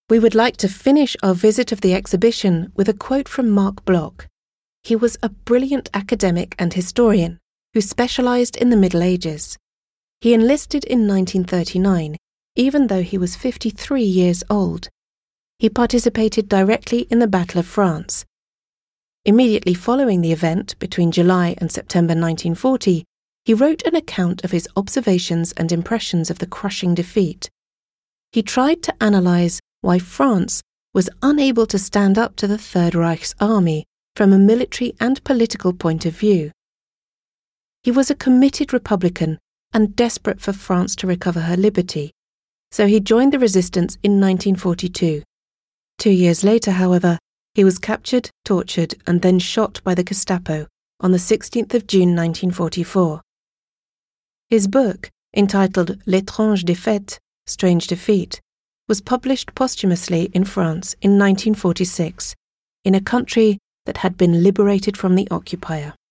We would like to finish our visit of the exhibition with a quote from Marc Bloch. He was a brilliant academic and historian who specialized in the Middle Ages. He enlisted in 1939, even though he was 53 years old. He participated directly in the Battle of France. Immediately following the event, between July and September 1940, he wrote an account of his observations and impressions of the crushing defeat. He tried to analyze why France was unable to stand up to the Third Reich's army from a military and political point of view. He was a committed Republican and desperate for France to recover her liberty, so he joined the resistance in 1942. 2 years later, however, he was captured, tortured, and then shot by the Gestapo on the 16th of June 1944. His book, entitled L'étrange défaite, Strange Defeat, was published posthumously in France in 1946, in a country that had been liberated from the occupier.